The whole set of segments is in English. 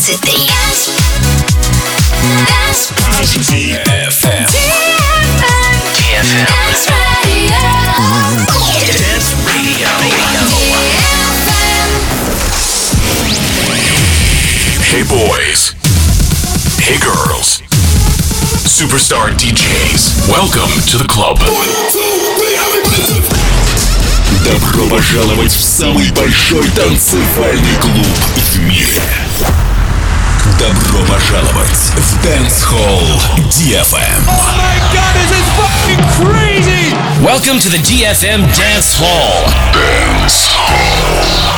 23. Dance Radio. Hey boys. Hey girls. Superstar DJs. Welcome to the club. Добро пожаловать в самый большой танцевальный клуб в мире. Добро пожаловать в Dance Hall DFM. Oh my god, this is fucking crazy! Welcome to the DFM Dance Hall. Dance Hall.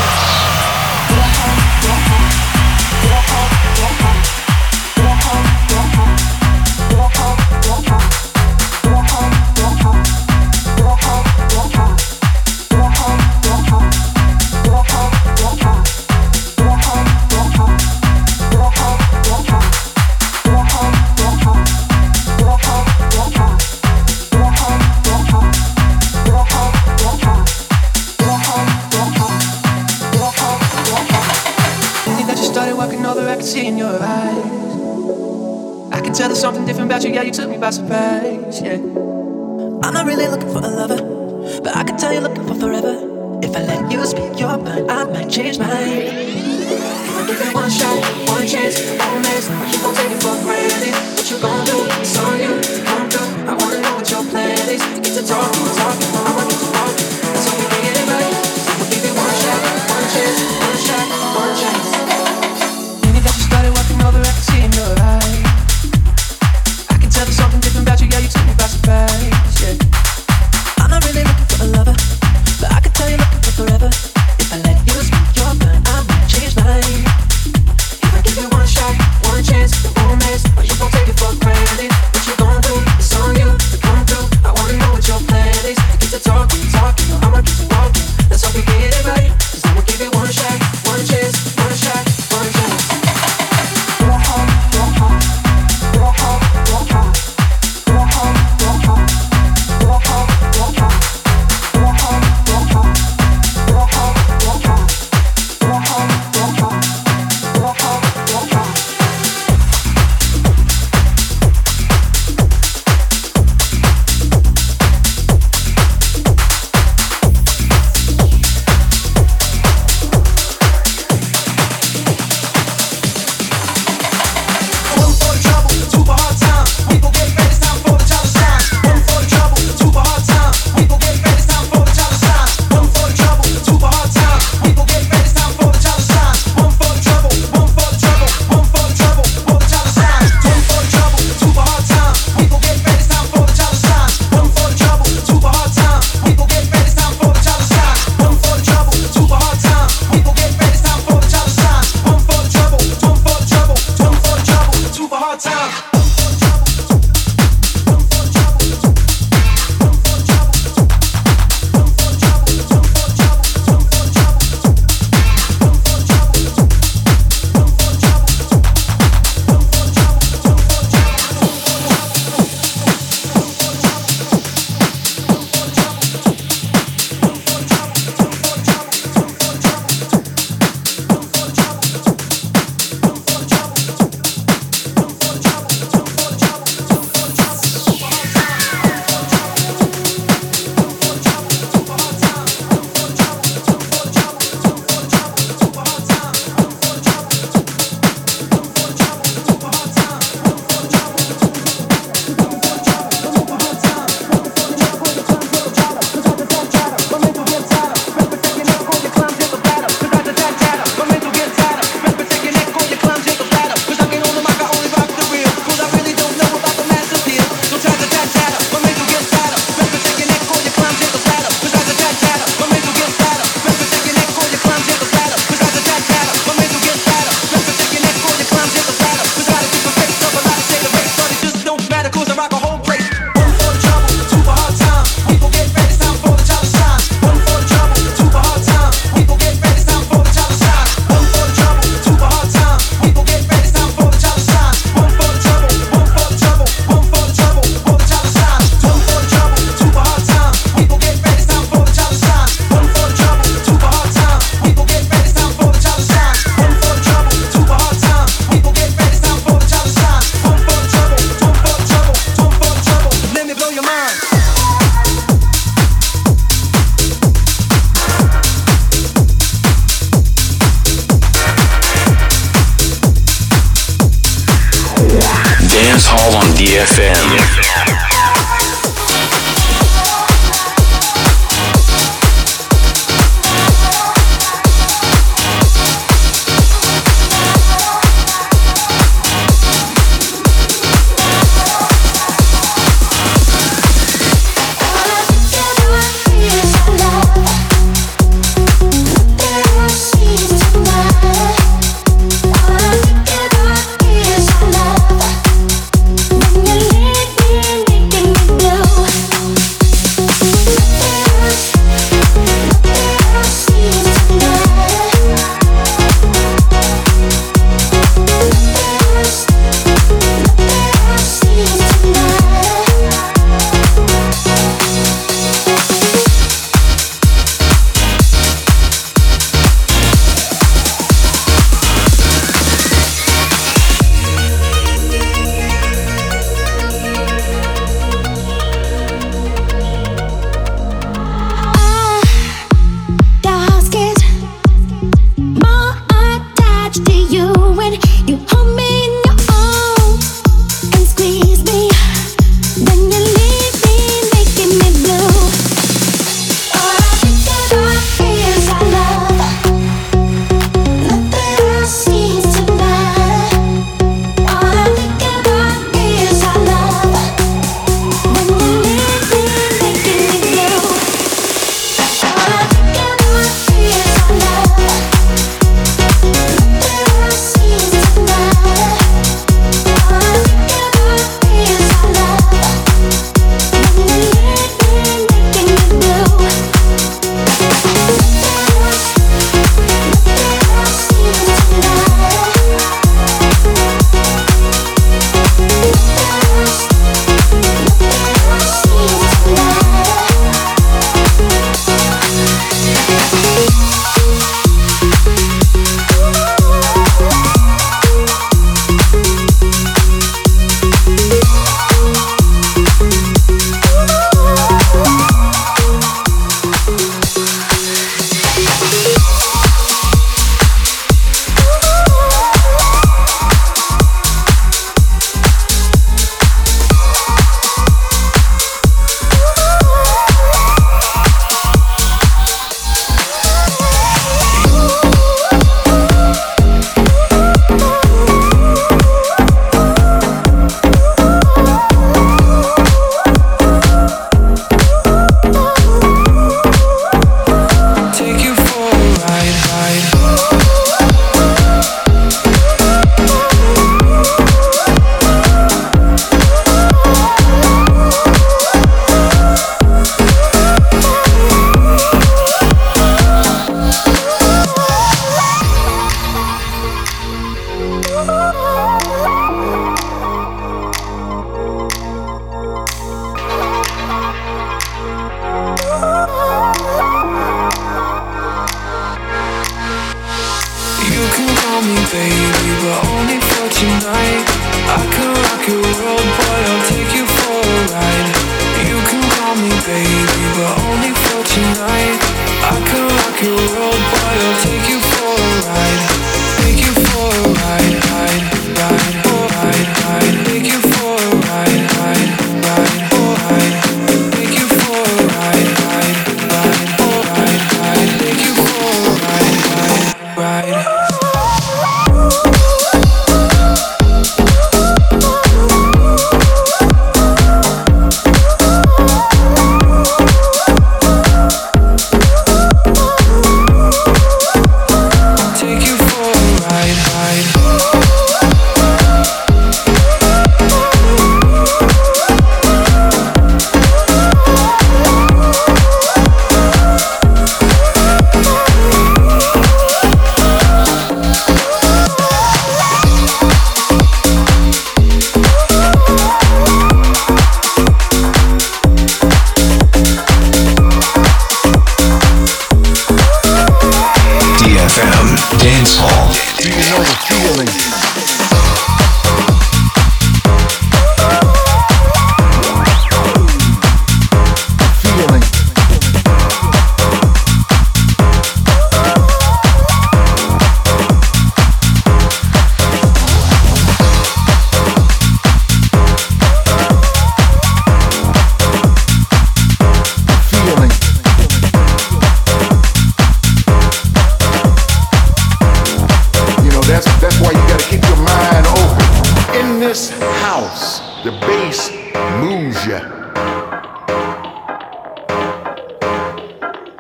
See in your eyes, I can tell there's something different about you. Yeah, you took me by surprise. Yeah, I'm not really looking for a lover, but I can tell you're looking for forever. If I let you speak your mind, I might change my mind. If I give it one shot, one chance, one miss, you gon' take it for granted. What you gon' do? It's on you. Come through. I wanna know what your plan is. Get to talking, I wanna get to walking. So we can get it right. So we'll give it one shot, one chance, one shot, one chance. I can see in your eyes, I can tell there's something different about you. Yeah, you took me by surprise. Yeah, I'm not really looking for a lover, but I can tell you're looking for forever. If I let you speak your mind, I might change mine. If I DFM.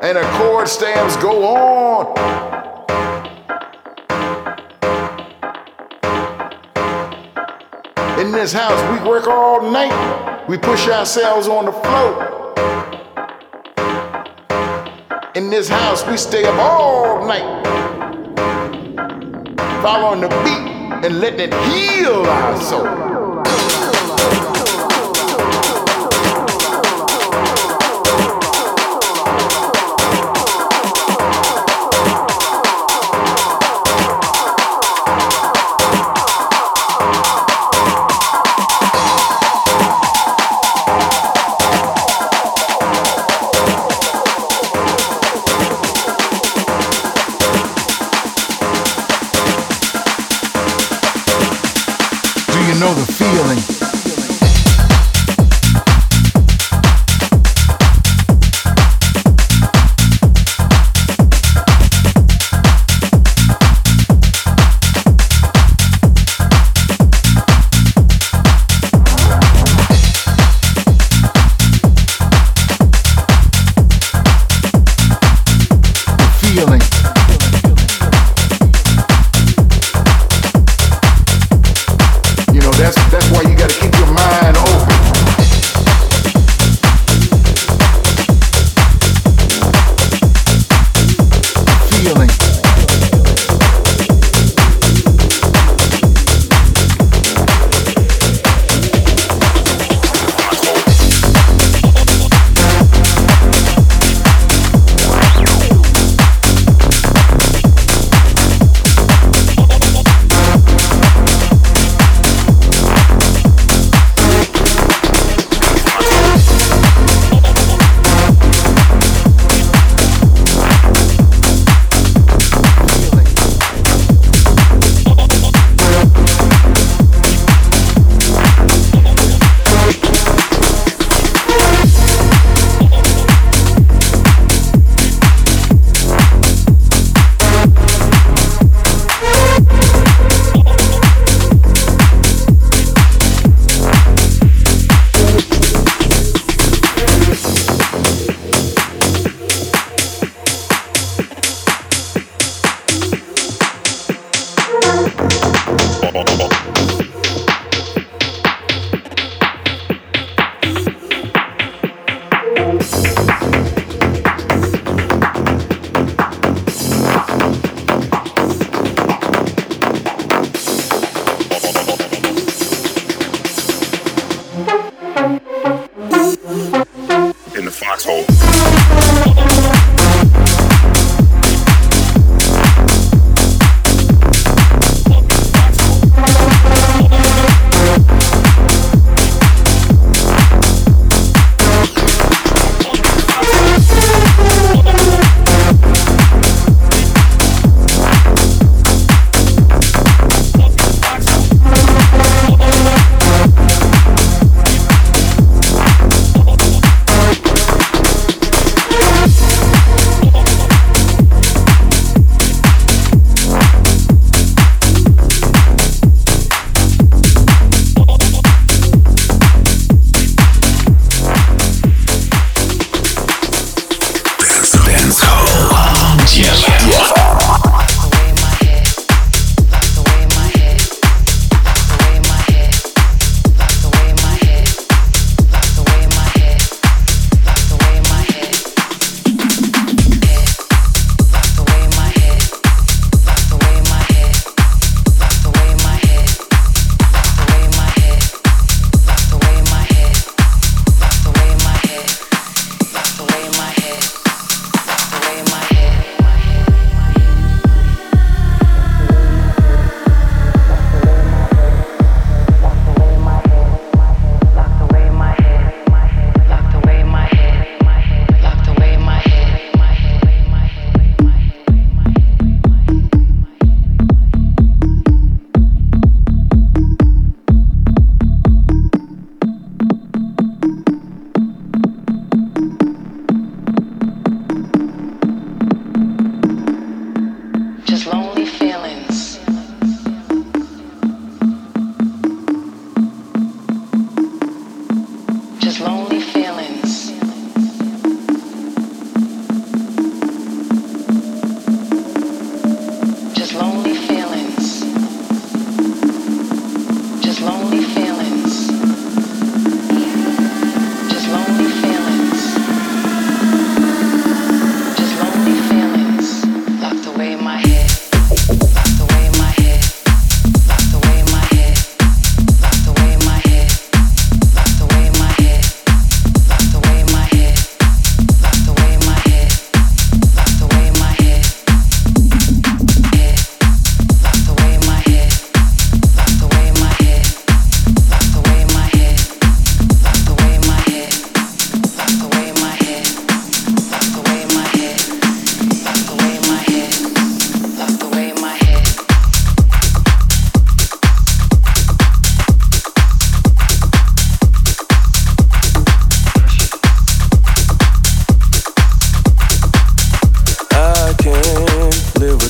and the chord stamps go on. In this house, we work all night. We push ourselves on the floor. In this house, we stay up all night, following the beat and letting it heal our soul.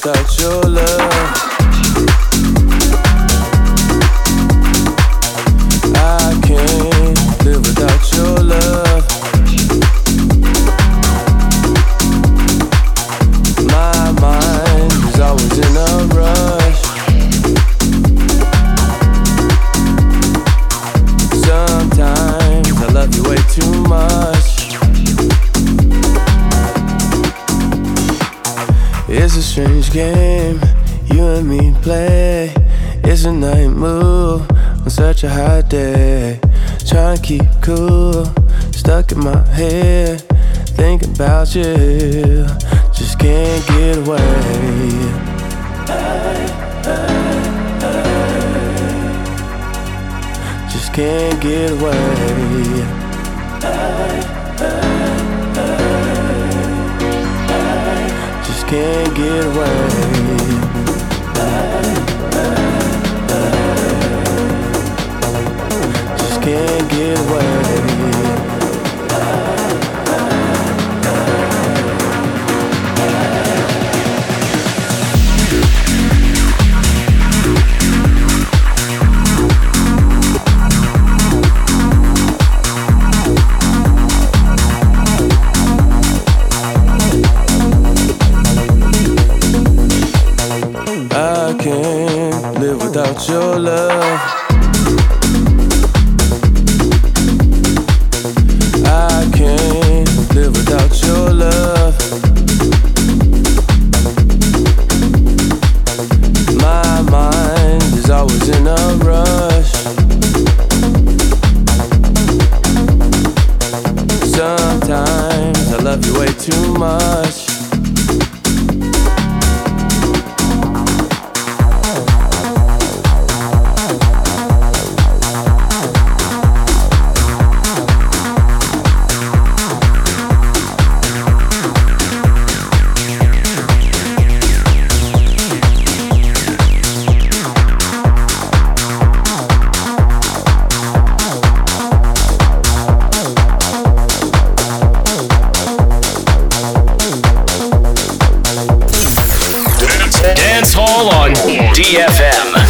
without your love. I can't live without your love. My mind is always in a rush. Sometimes I love you way too much. It's a strange game you and me play. It's a night move on such a hot day. Trying to keep cool, stuck in my head, thinking about you, just can't get away. Just can't get away. Just can't get away. Just can't get away. I can't live without your love. I can't live without your love. My mind is always in a rush. Sometimes I love you way too much. Dance Hall on DFM.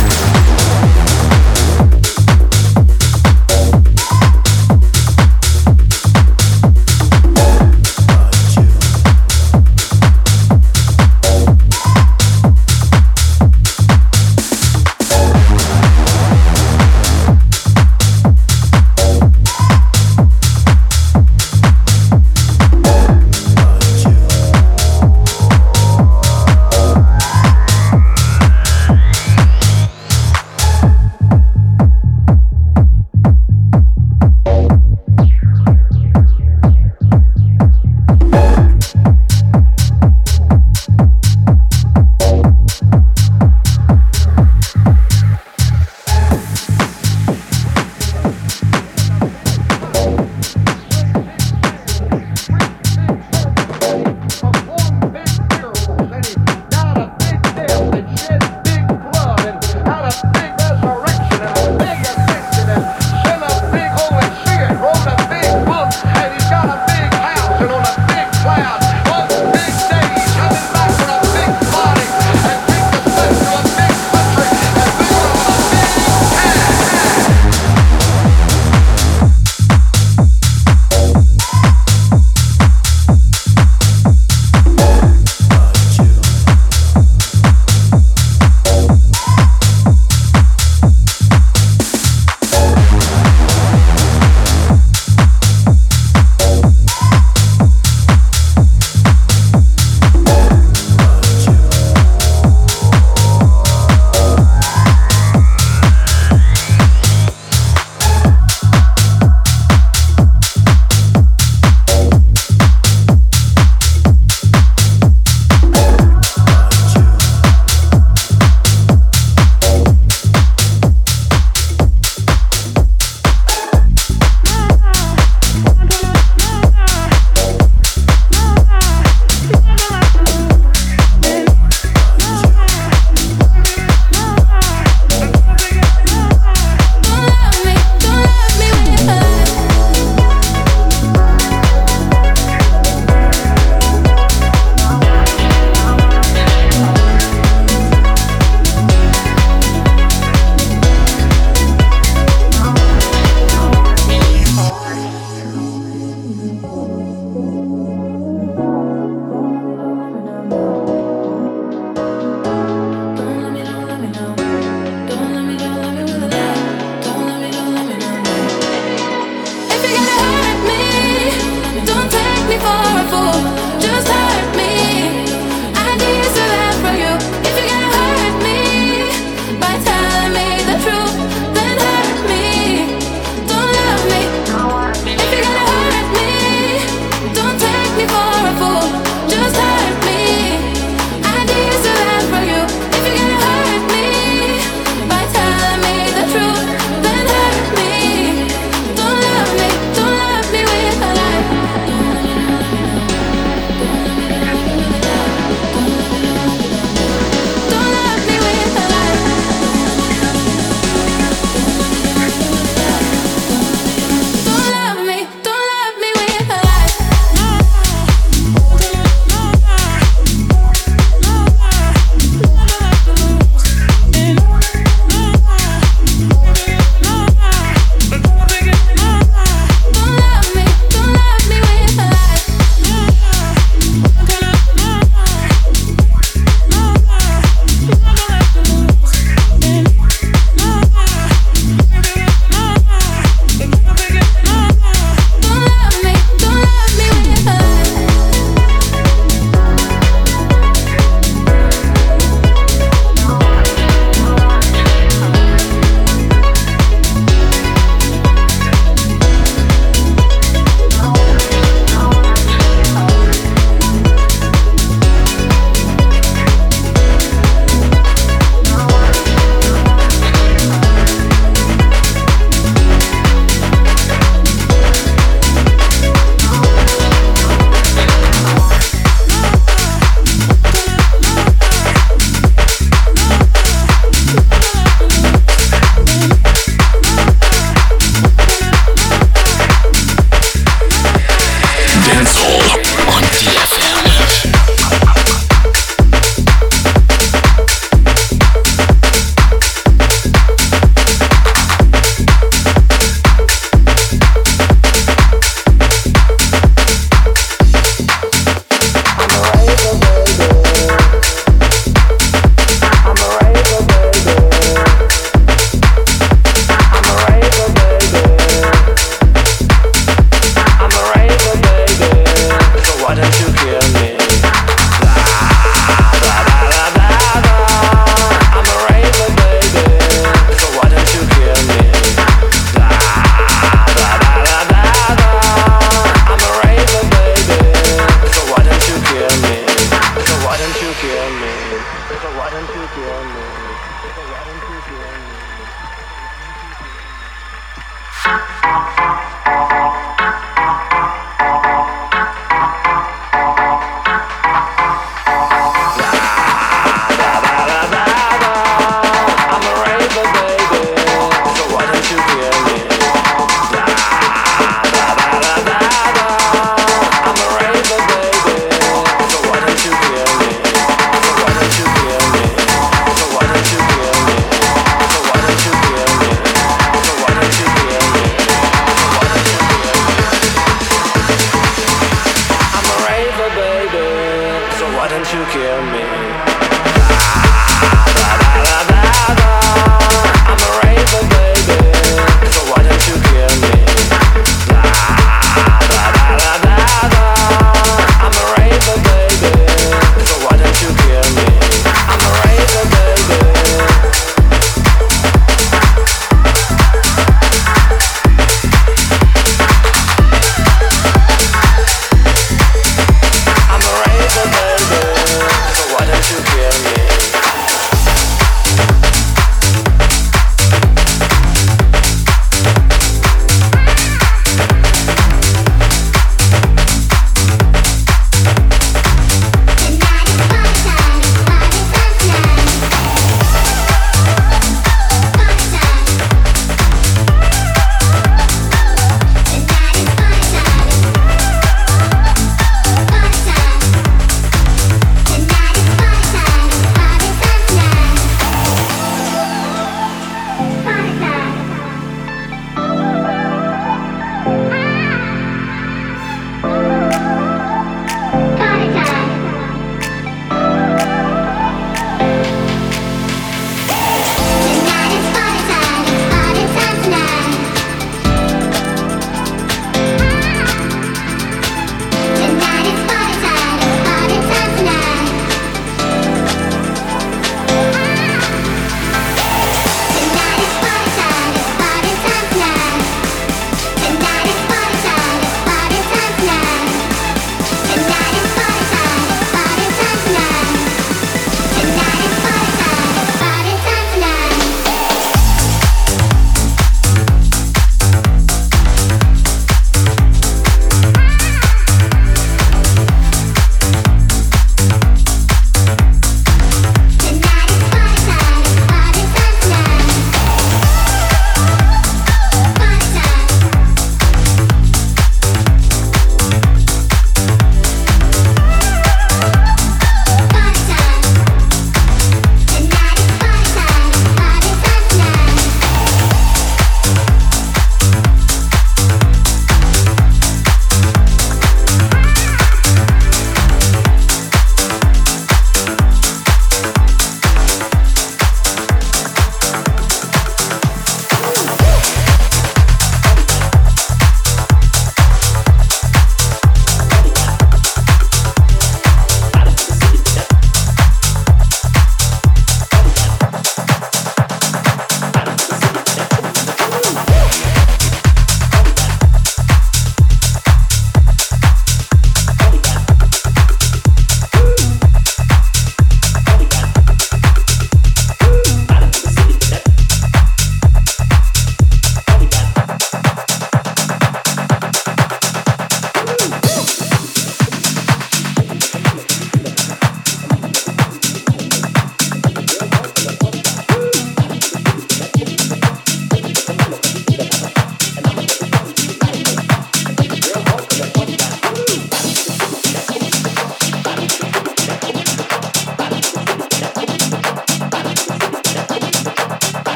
kill me? So why don't you kill me?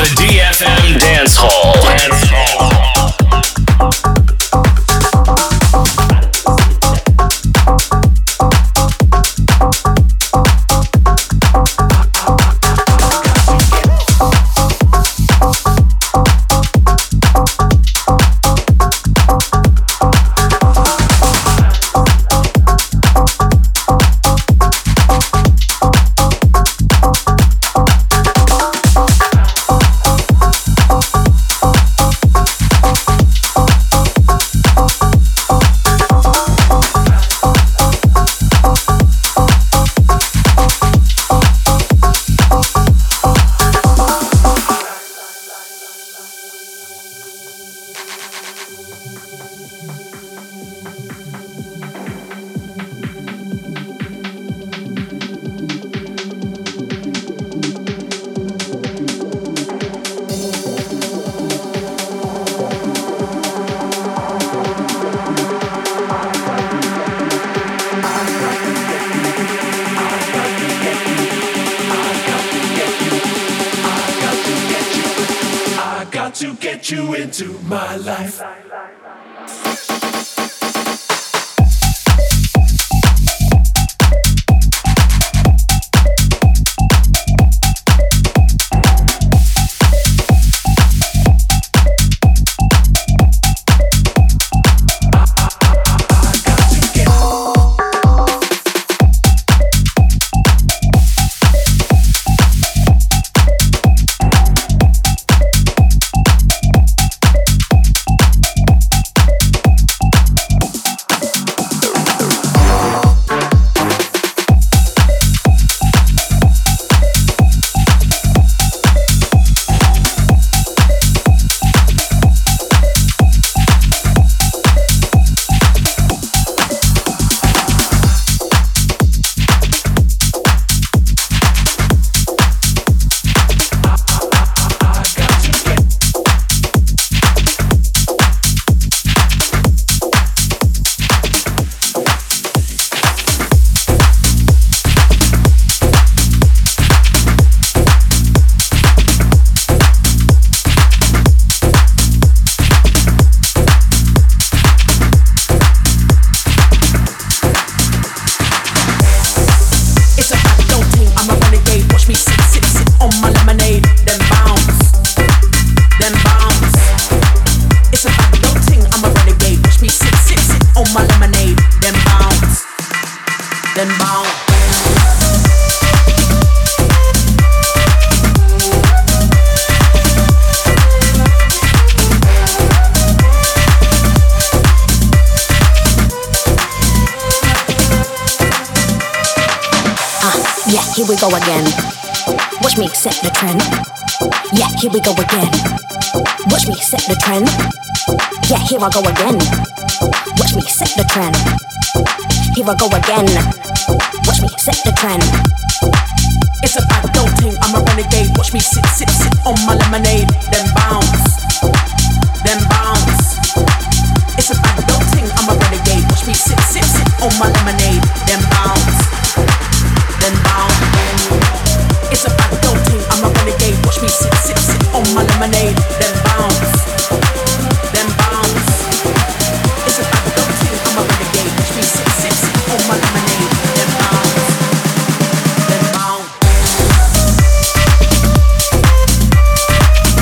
The DFM Dance Hall. Into my life. Here we go again. Watch me set the trend. Yeah, here we go again. Watch me set the trend. Yeah, here I go again. Watch me set the trend. Here I go again. Watch me set the trend. It's a bad dope thing, I'm a renegade. Watch me sit on my lemonade. Then bounce, then bounce. It's a bad dope thing, I'm a renegade. Watch me sit on my lemonade. Then bounce, then bounce. It's a bad dope thing, I'm a renegade. Watch me sit on my lemonade. Then bounce, then bounce. It's a bad dope thing, I'm a renegade. Watch me sit on my lemonade. Then bounce, then bounce.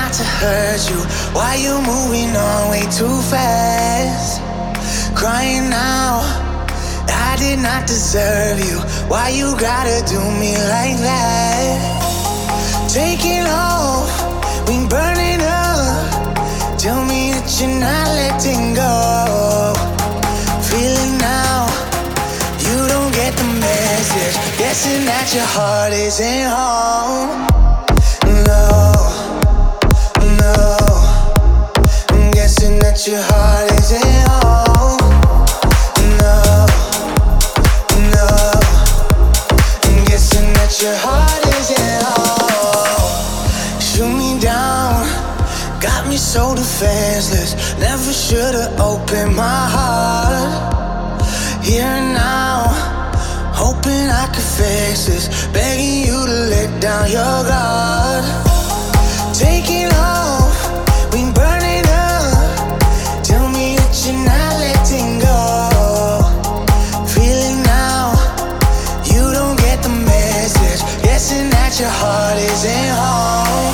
not to hurt you. Why you moving on way too fast? Crying now, I did not deserve you. Why you gotta do me like that? Taking off, we burning up. Tell me that you're not letting go. Feeling now, you don't get the message. Guessing that your heart isn't home. No, no, I'm guessing that your heart isn't home. No, no, I'm guessing that your heart isn't home. Shoot me down, got me so defenseless. Never should've opened my heart. Here and now, hoping I could fix this. Begging you to let down your guard. Taking off, we burning up. Tell me that you're not letting go. Feeling now, you don't get the message. Guessing that your heart isn't home.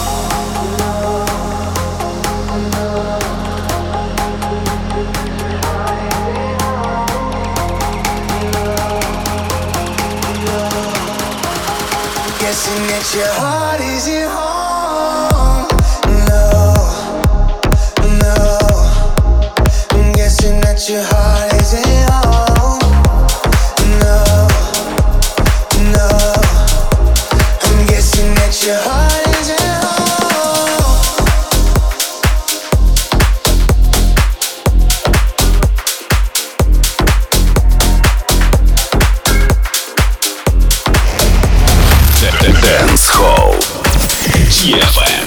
Guessing that your heart isn't home. No, no, I'm guessing that your heart isn't home. No, no, I'm guessing that your heart isn't home. Dance Hall DFM.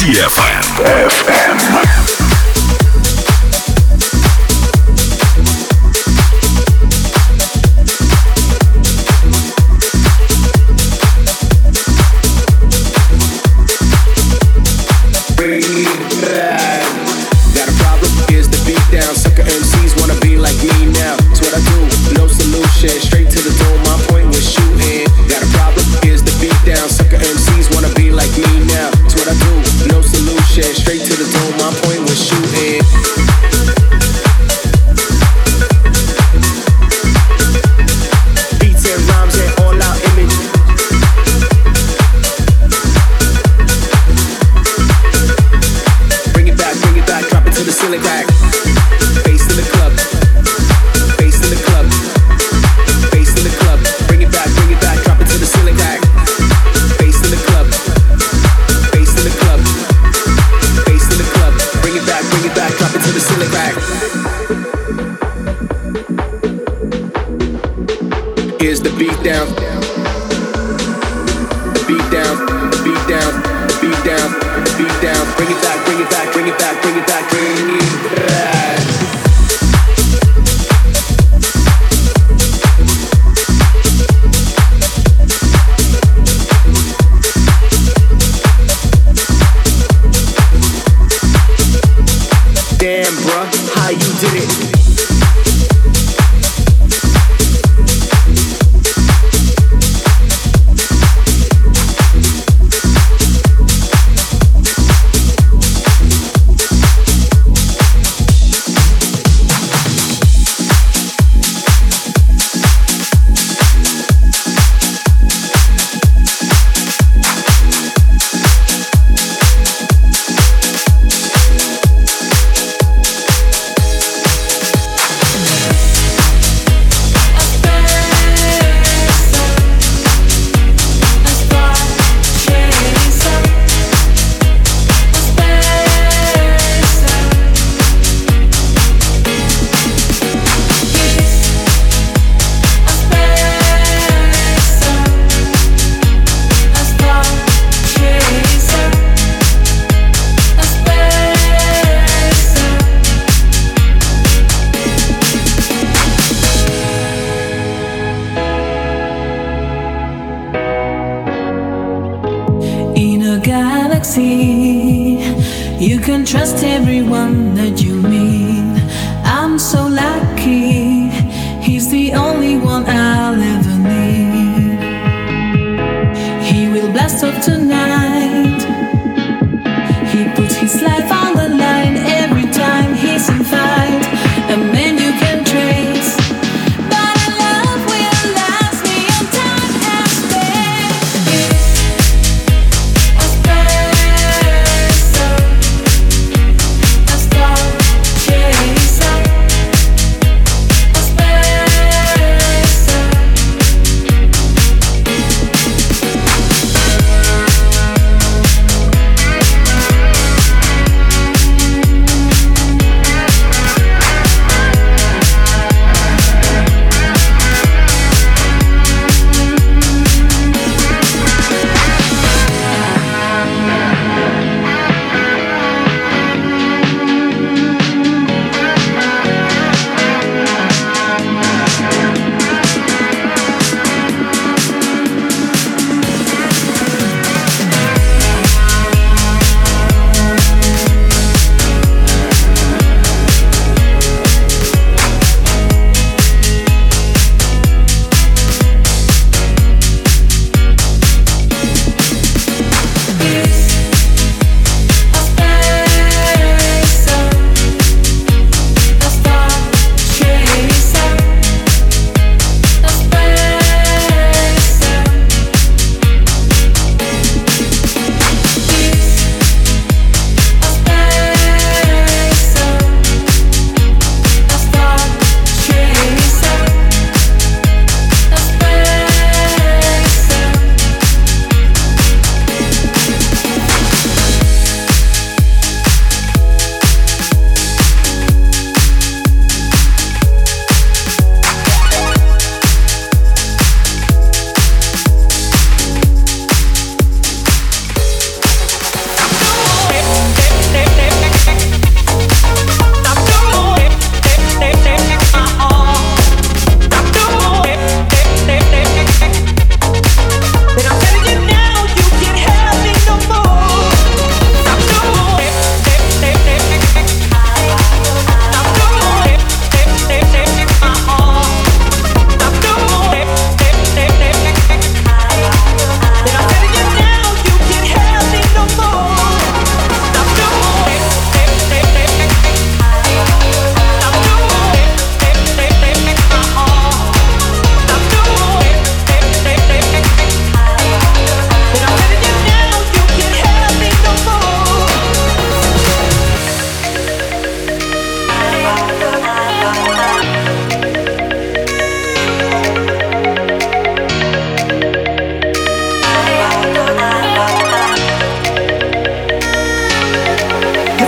TFM. Got a problem? Here's the beat down. Sucker MCs wanna be like me now. It's what I do, no solution. Straight to the dome, my point was shooting. Got a problem? Here's the beat down. Sucker MCs wanna be like me now. It's what I do, no solution. Straight to the dome, my point was shooting. Beats and rhymes and all out image. Bring it back, drop it to the ceiling back. Bass in the club, bass in the club, bass in the club. Bring it back, drop it to the ceiling back. Bass in the club, bass in the club, bass in the club. Bring it back, drop it to the ceiling back. Here's the beat down, the beat down, the beat down, the beat down, the beat down. Bring it back, bring it back, bring it back, bring it back, bring it back. Damn, bruh, how you did it? You can trust everyone that you meet. I'm so lucky. He's the only one I'll ever need. He will blast off tonight. He puts his life on the line every time he's in fight. A man you can trace, but a love will last beyond time and space. A special, a star chaser. A special,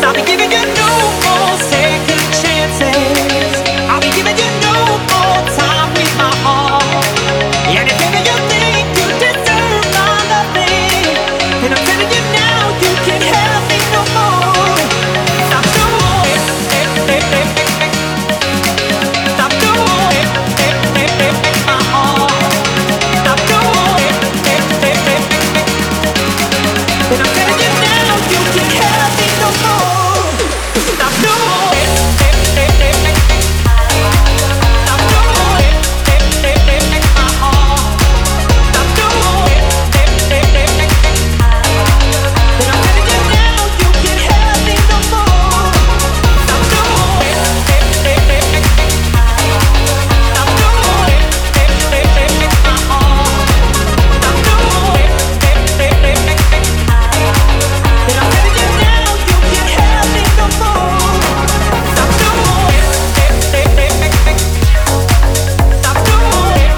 I'll be giving you no more second chances. I'll be giving you no more time with my heart. And if ever you think you deserve my loving, then I'm telling you now, you can't have me no more. Stop doing stop doing my heart. Stop doing then I'm telling you now, you can't have me no more. Stop doing stop doing my heart. Stop doing then I'm telling you now, you can't have me no more. Stop doing stop doing my heart. Stop doing then I'm telling you now, you can't have me no more. Stop doing stop doing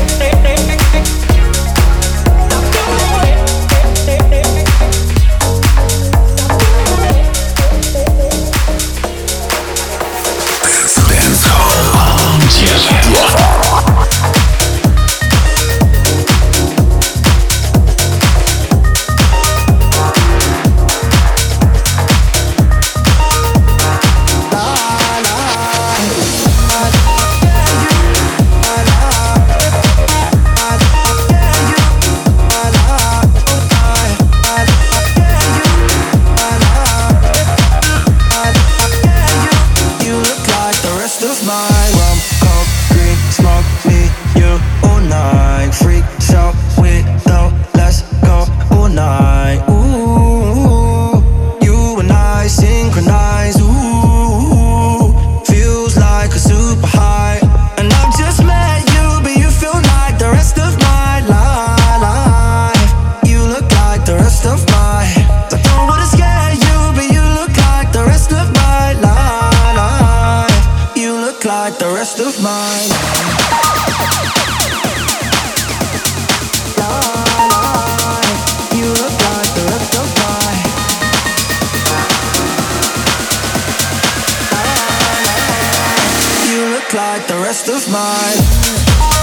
You look like the rest of mine. Rum, coke, green, smoke, me, you all night. Freak show window, let's go all night. Ooh, you and I synchronize. Ooh, feels like a super high. And I've just met you, but you feel like the rest of my life. You look like the rest of my. I don't wanna scare you, but you look like the rest of my life. You look like the rest of mine. You look like the rest of mine. You look like the rest of mine.